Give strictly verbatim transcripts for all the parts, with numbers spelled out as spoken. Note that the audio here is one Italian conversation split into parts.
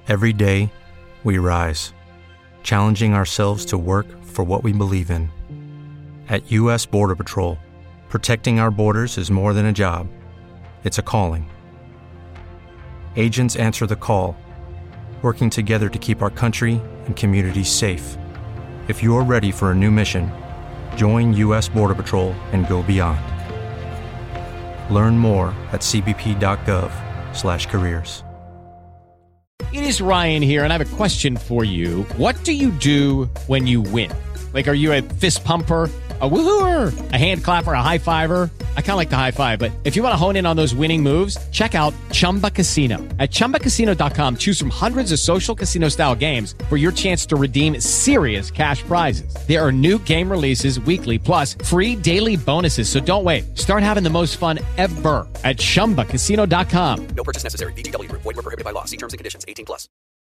Every day, we rise, challenging ourselves to work for what we believe in. At U S Border Patrol, protecting our borders is more than a job. It's a calling. Agents answer the call, working together to keep our country and communities safe. If you're ready for a new mission, join U S Border Patrol and go beyond. Learn more at cbp.gov slash careers. It is Ryan here, and I have a question for you. What do you do when you win? Like, are you a fist pumper, a woohooer, a hand clapper, a high fiver? I kind of like the high five, but if you want to hone in on those winning moves, check out Chumba Casino. At chumba casino dot com, choose from hundreds of social casino-style games for your chance to redeem serious cash prizes. There are new game releases weekly, plus free daily bonuses, so don't wait. Start having the most fun ever at chumba casino dot com. No purchase necessary. V G W. Void where prohibited by law. See terms and conditions. eighteen plus.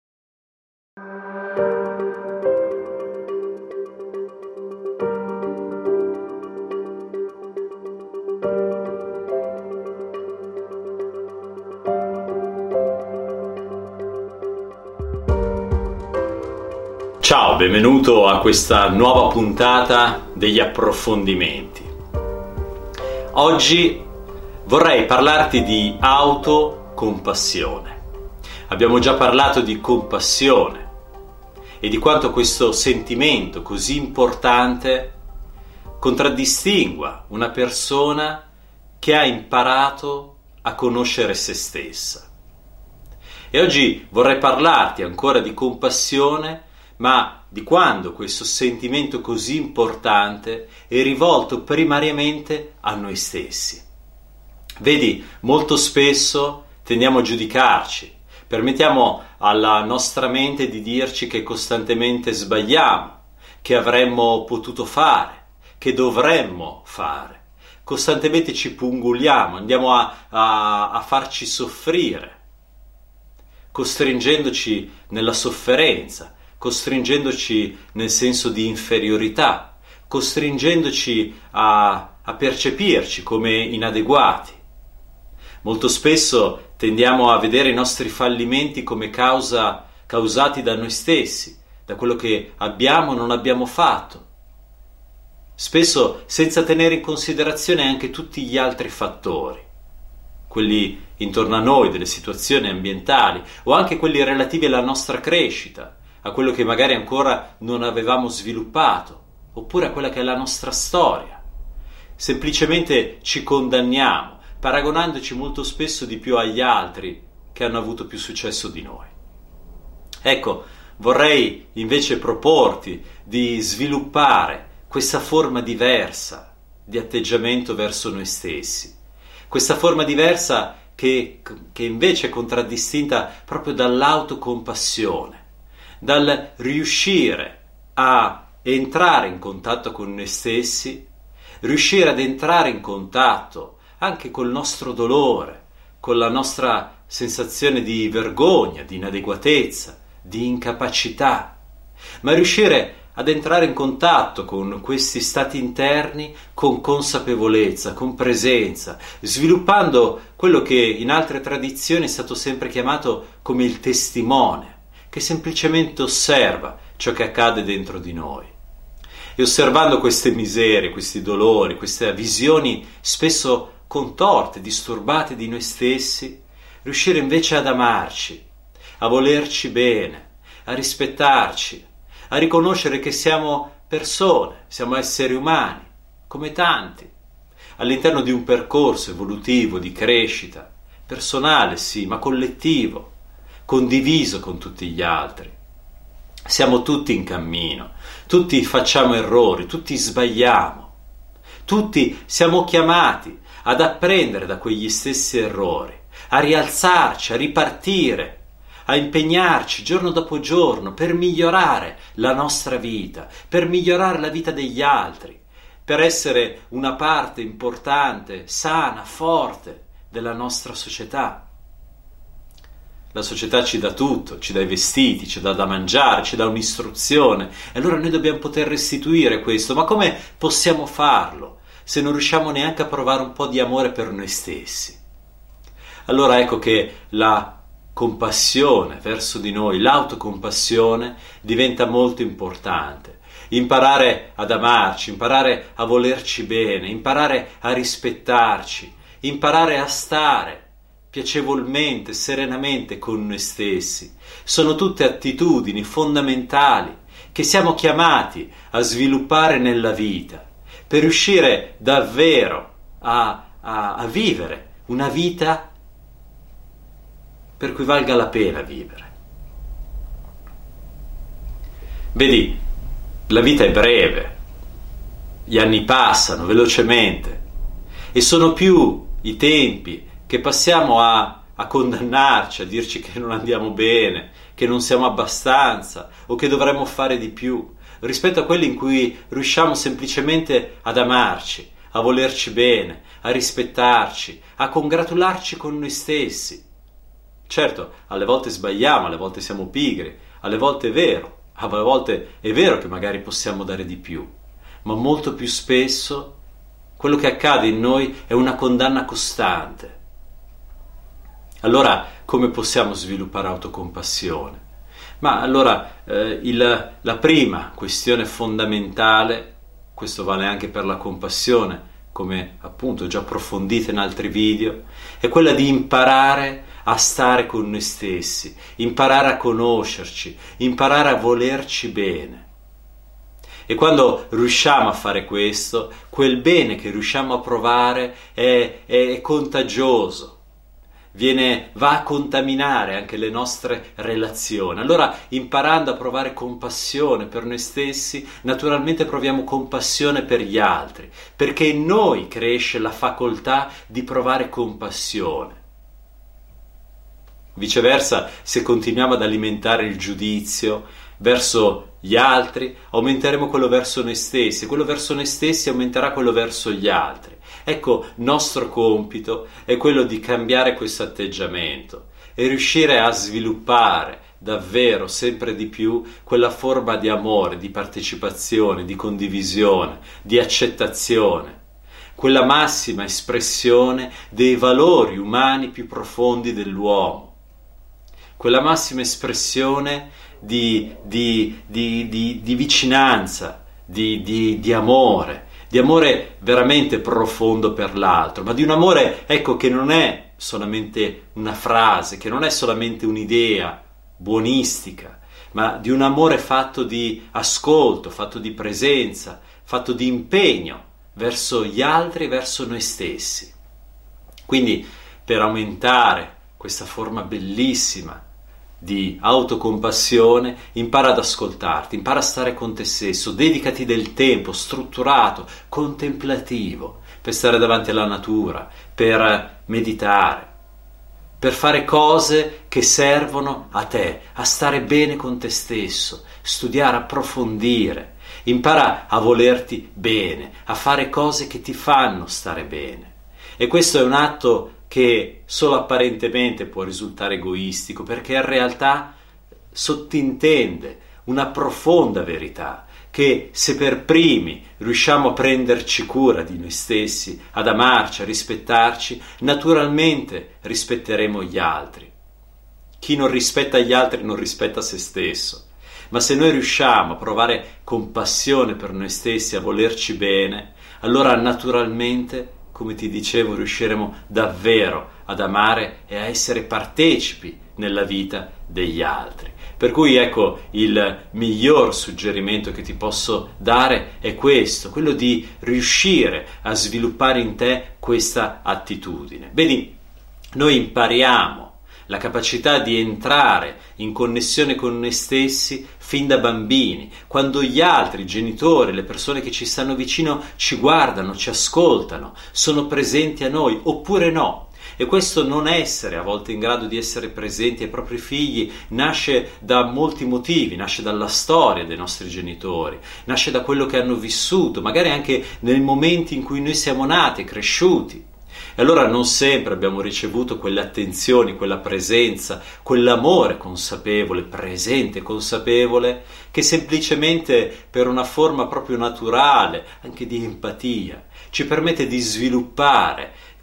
Ciao, benvenuto a questa nuova puntata degli approfondimenti. Oggi vorrei parlarti di autocompassione. Abbiamo già parlato di compassione e di quanto questo sentimento così importante contraddistingua una persona che ha imparato a conoscere se stessa. E oggi vorrei parlarti ancora di compassione, ma di quando questo sentimento così importante è rivolto primariamente a noi stessi. Vedi, molto spesso tendiamo a giudicarci, permettiamo alla nostra mente di dirci che costantemente sbagliamo, che avremmo potuto fare, che dovremmo fare. Costantemente ci punguliamo, andiamo a, a, a farci soffrire, costringendoci nella sofferenza, costringendoci nel senso di inferiorità, costringendoci a, a percepirci come inadeguati. Molto spesso tendiamo a vedere i nostri fallimenti come causa, causati da noi stessi, da quello che abbiamo o non abbiamo fatto, spesso senza tenere in considerazione anche tutti gli altri fattori, quelli intorno a noi, delle situazioni ambientali o anche quelli relativi alla nostra crescita, a quello che magari ancora non avevamo sviluppato, oppure a quella che è la nostra storia. Semplicemente ci condanniamo, paragonandoci molto spesso di più agli altri che hanno avuto più successo di noi. Ecco, vorrei invece proporti di sviluppare questa forma diversa di atteggiamento verso noi stessi, questa forma diversa che, che invece è contraddistinta proprio dall'autocompassione, dal riuscire a entrare in contatto con noi stessi, riuscire ad entrare in contatto anche col nostro dolore, con la nostra sensazione di vergogna, di inadeguatezza, di incapacità, ma riuscire ad entrare in contatto con questi stati interni con consapevolezza, con presenza, sviluppando quello che in altre tradizioni è stato sempre chiamato come il testimone, che semplicemente osserva ciò che accade dentro di noi. E osservando queste miserie, questi dolori, queste visioni spesso contorte, disturbate di noi stessi, riuscire invece ad amarci, a volerci bene, a rispettarci, a riconoscere che siamo persone, siamo esseri umani, come tanti, all'interno di un percorso evolutivo di crescita, personale sì, ma collettivo, condiviso con tutti gli altri. Siamo tutti in cammino, tutti facciamo errori, tutti sbagliamo, tutti siamo chiamati ad apprendere da quegli stessi errori, a rialzarci, a ripartire, a impegnarci giorno dopo giorno per migliorare la nostra vita, per migliorare la vita degli altri, per essere una parte importante, sana, forte della nostra società. La società ci dà tutto, ci dà i vestiti, ci dà da mangiare, ci dà un'istruzione, e allora noi dobbiamo poter restituire questo. Ma come possiamo farlo se non riusciamo neanche a provare un po' di amore per noi stessi? Allora ecco che la compassione verso di noi, l'autocompassione diventa molto importante. Imparare ad amarci, imparare a volerci bene, imparare a rispettarci, imparare a stare piacevolmente, serenamente con noi stessi. Sono tutte attitudini fondamentali che siamo chiamati a sviluppare nella vita per riuscire davvero a, a, a vivere una vita per cui valga la pena vivere. Vedi, la vita è breve, gli anni passano velocemente e sono più i tempi che passiamo a, a condannarci, a dirci che non andiamo bene, che non siamo abbastanza o che dovremmo fare di più, rispetto a quelli in cui riusciamo semplicemente ad amarci, a volerci bene, a rispettarci, a congratularci con noi stessi. Certo, alle volte sbagliamo, alle volte siamo pigri, alle volte è vero, alle volte è vero che magari possiamo dare di più, ma molto più spesso quello che accade in noi è una condanna costante. Allora, come possiamo sviluppare autocompassione? Ma allora, eh, il, la prima questione fondamentale, questo vale anche per la compassione, come appunto già approfondito in altri video, è quella di imparare a stare con noi stessi, imparare a conoscerci, imparare a volerci bene. E quando riusciamo a fare questo, quel bene che riusciamo a provare è, è contagioso, viene, va a contaminare anche le nostre relazioni. Allora, imparando a provare compassione per noi stessi, naturalmente proviamo compassione per gli altri, perché in noi cresce la facoltà di provare compassione. Viceversa, se continuiamo ad alimentare il giudizio verso gli altri, aumenteremo quello verso noi stessi, e quello verso noi stessi aumenterà quello verso gli altri. Ecco, nostro compito è quello di cambiare questo atteggiamento e riuscire a sviluppare davvero sempre di più quella forma di amore, di partecipazione, di condivisione, di accettazione, quella massima espressione dei valori umani più profondi dell'uomo, quella massima espressione di, di, di, di, di vicinanza, di, di, di amore, di amore veramente profondo per l'altro, ma di un amore, ecco, che non è solamente una frase, che non è solamente un'idea buonistica, ma di un amore fatto di ascolto, fatto di presenza, fatto di impegno verso gli altri e verso noi stessi. Quindi, per aumentare questa forma bellissima di autocompassione, impara ad ascoltarti, impara a stare con te stesso, dedicati del tempo strutturato, contemplativo, per stare davanti alla natura, per meditare, per fare cose che servono a te, a stare bene con te stesso, studiare, approfondire, impara a volerti bene, a fare cose che ti fanno stare bene. E questo è un atto che solo apparentemente può risultare egoistico, perché in realtà sottintende una profonda verità, che se per primi riusciamo a prenderci cura di noi stessi, ad amarci, a rispettarci, naturalmente rispetteremo gli altri. Chi non rispetta gli altri non rispetta se stesso. Ma se noi riusciamo a provare compassione per noi stessi, a volerci bene, allora naturalmente, come ti dicevo, riusciremo davvero ad amare e a essere partecipi nella vita degli altri. Per cui ecco, il miglior suggerimento che ti posso dare è questo, quello di riuscire a sviluppare in te questa attitudine. Vedi, noi impariamo la capacità di entrare in connessione con noi stessi fin da bambini, quando gli altri, i genitori, le persone che ci stanno vicino ci guardano, ci ascoltano, sono presenti a noi, oppure no. E questo non essere a volte in grado di essere presenti ai propri figli nasce da molti motivi, nasce dalla storia dei nostri genitori, nasce da quello che hanno vissuto, magari anche nei momenti in cui noi siamo nati e cresciuti. E allora non sempre abbiamo ricevuto quelle attenzioni, quella presenza, quell'amore consapevole, presente, consapevole, che semplicemente per una forma proprio naturale, anche di empatia, ci permette di sviluppare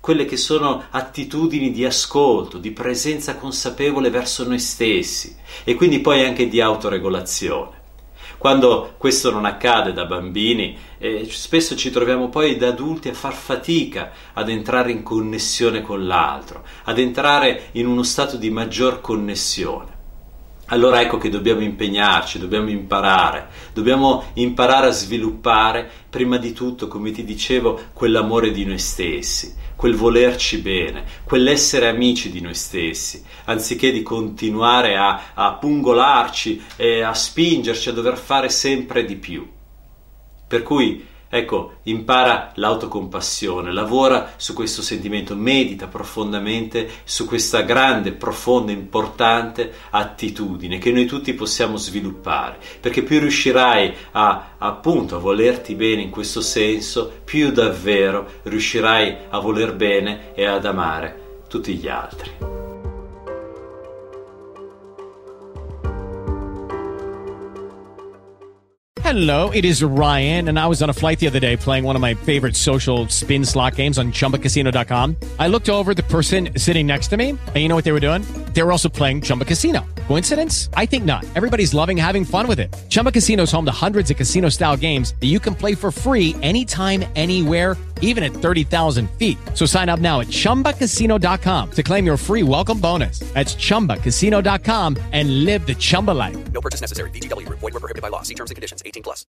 quelle che sono attitudini di ascolto, di presenza consapevole verso noi stessi e quindi poi anche di autoregolazione. Quando questo non accade da bambini, eh, spesso ci troviamo poi da adulti a far fatica ad entrare in connessione con l'altro, ad entrare in uno stato di maggior connessione. Allora ecco che dobbiamo impegnarci, dobbiamo imparare, dobbiamo imparare a sviluppare prima di tutto, come ti dicevo, quell'amore di noi stessi, quel volerci bene, quell'essere amici di noi stessi, anziché di continuare a, a pungolarci e a spingerci a dover fare sempre di più. Per cui, ecco, impara l'autocompassione, lavora su questo sentimento, medita profondamente su questa grande, profonda, importante attitudine che noi tutti possiamo sviluppare, perché più riuscirai a, appunto, a volerti bene in questo senso, più davvero riuscirai a voler bene e ad amare tutti gli altri. Hello, it is Ryan, and I was on a flight the other day playing one of my favorite social spin slot games on Chumba Casino dot com. I looked over at the person sitting next to me, and you know what they were doing? They were also playing Chumba Casino. Coincidence? I think not. Everybody's loving having fun with it. Chumba Casino is home to hundreds of casino-style games that you can play for free anytime, anywhere, even at thirty thousand feet. So sign up now at Chumba Casino dot com to claim your free welcome bonus. That's Chumba Casino dot com and live the Chumba life. No purchase necessary. V G W. Void where prohibited by law. See terms and conditions. eighteen plus.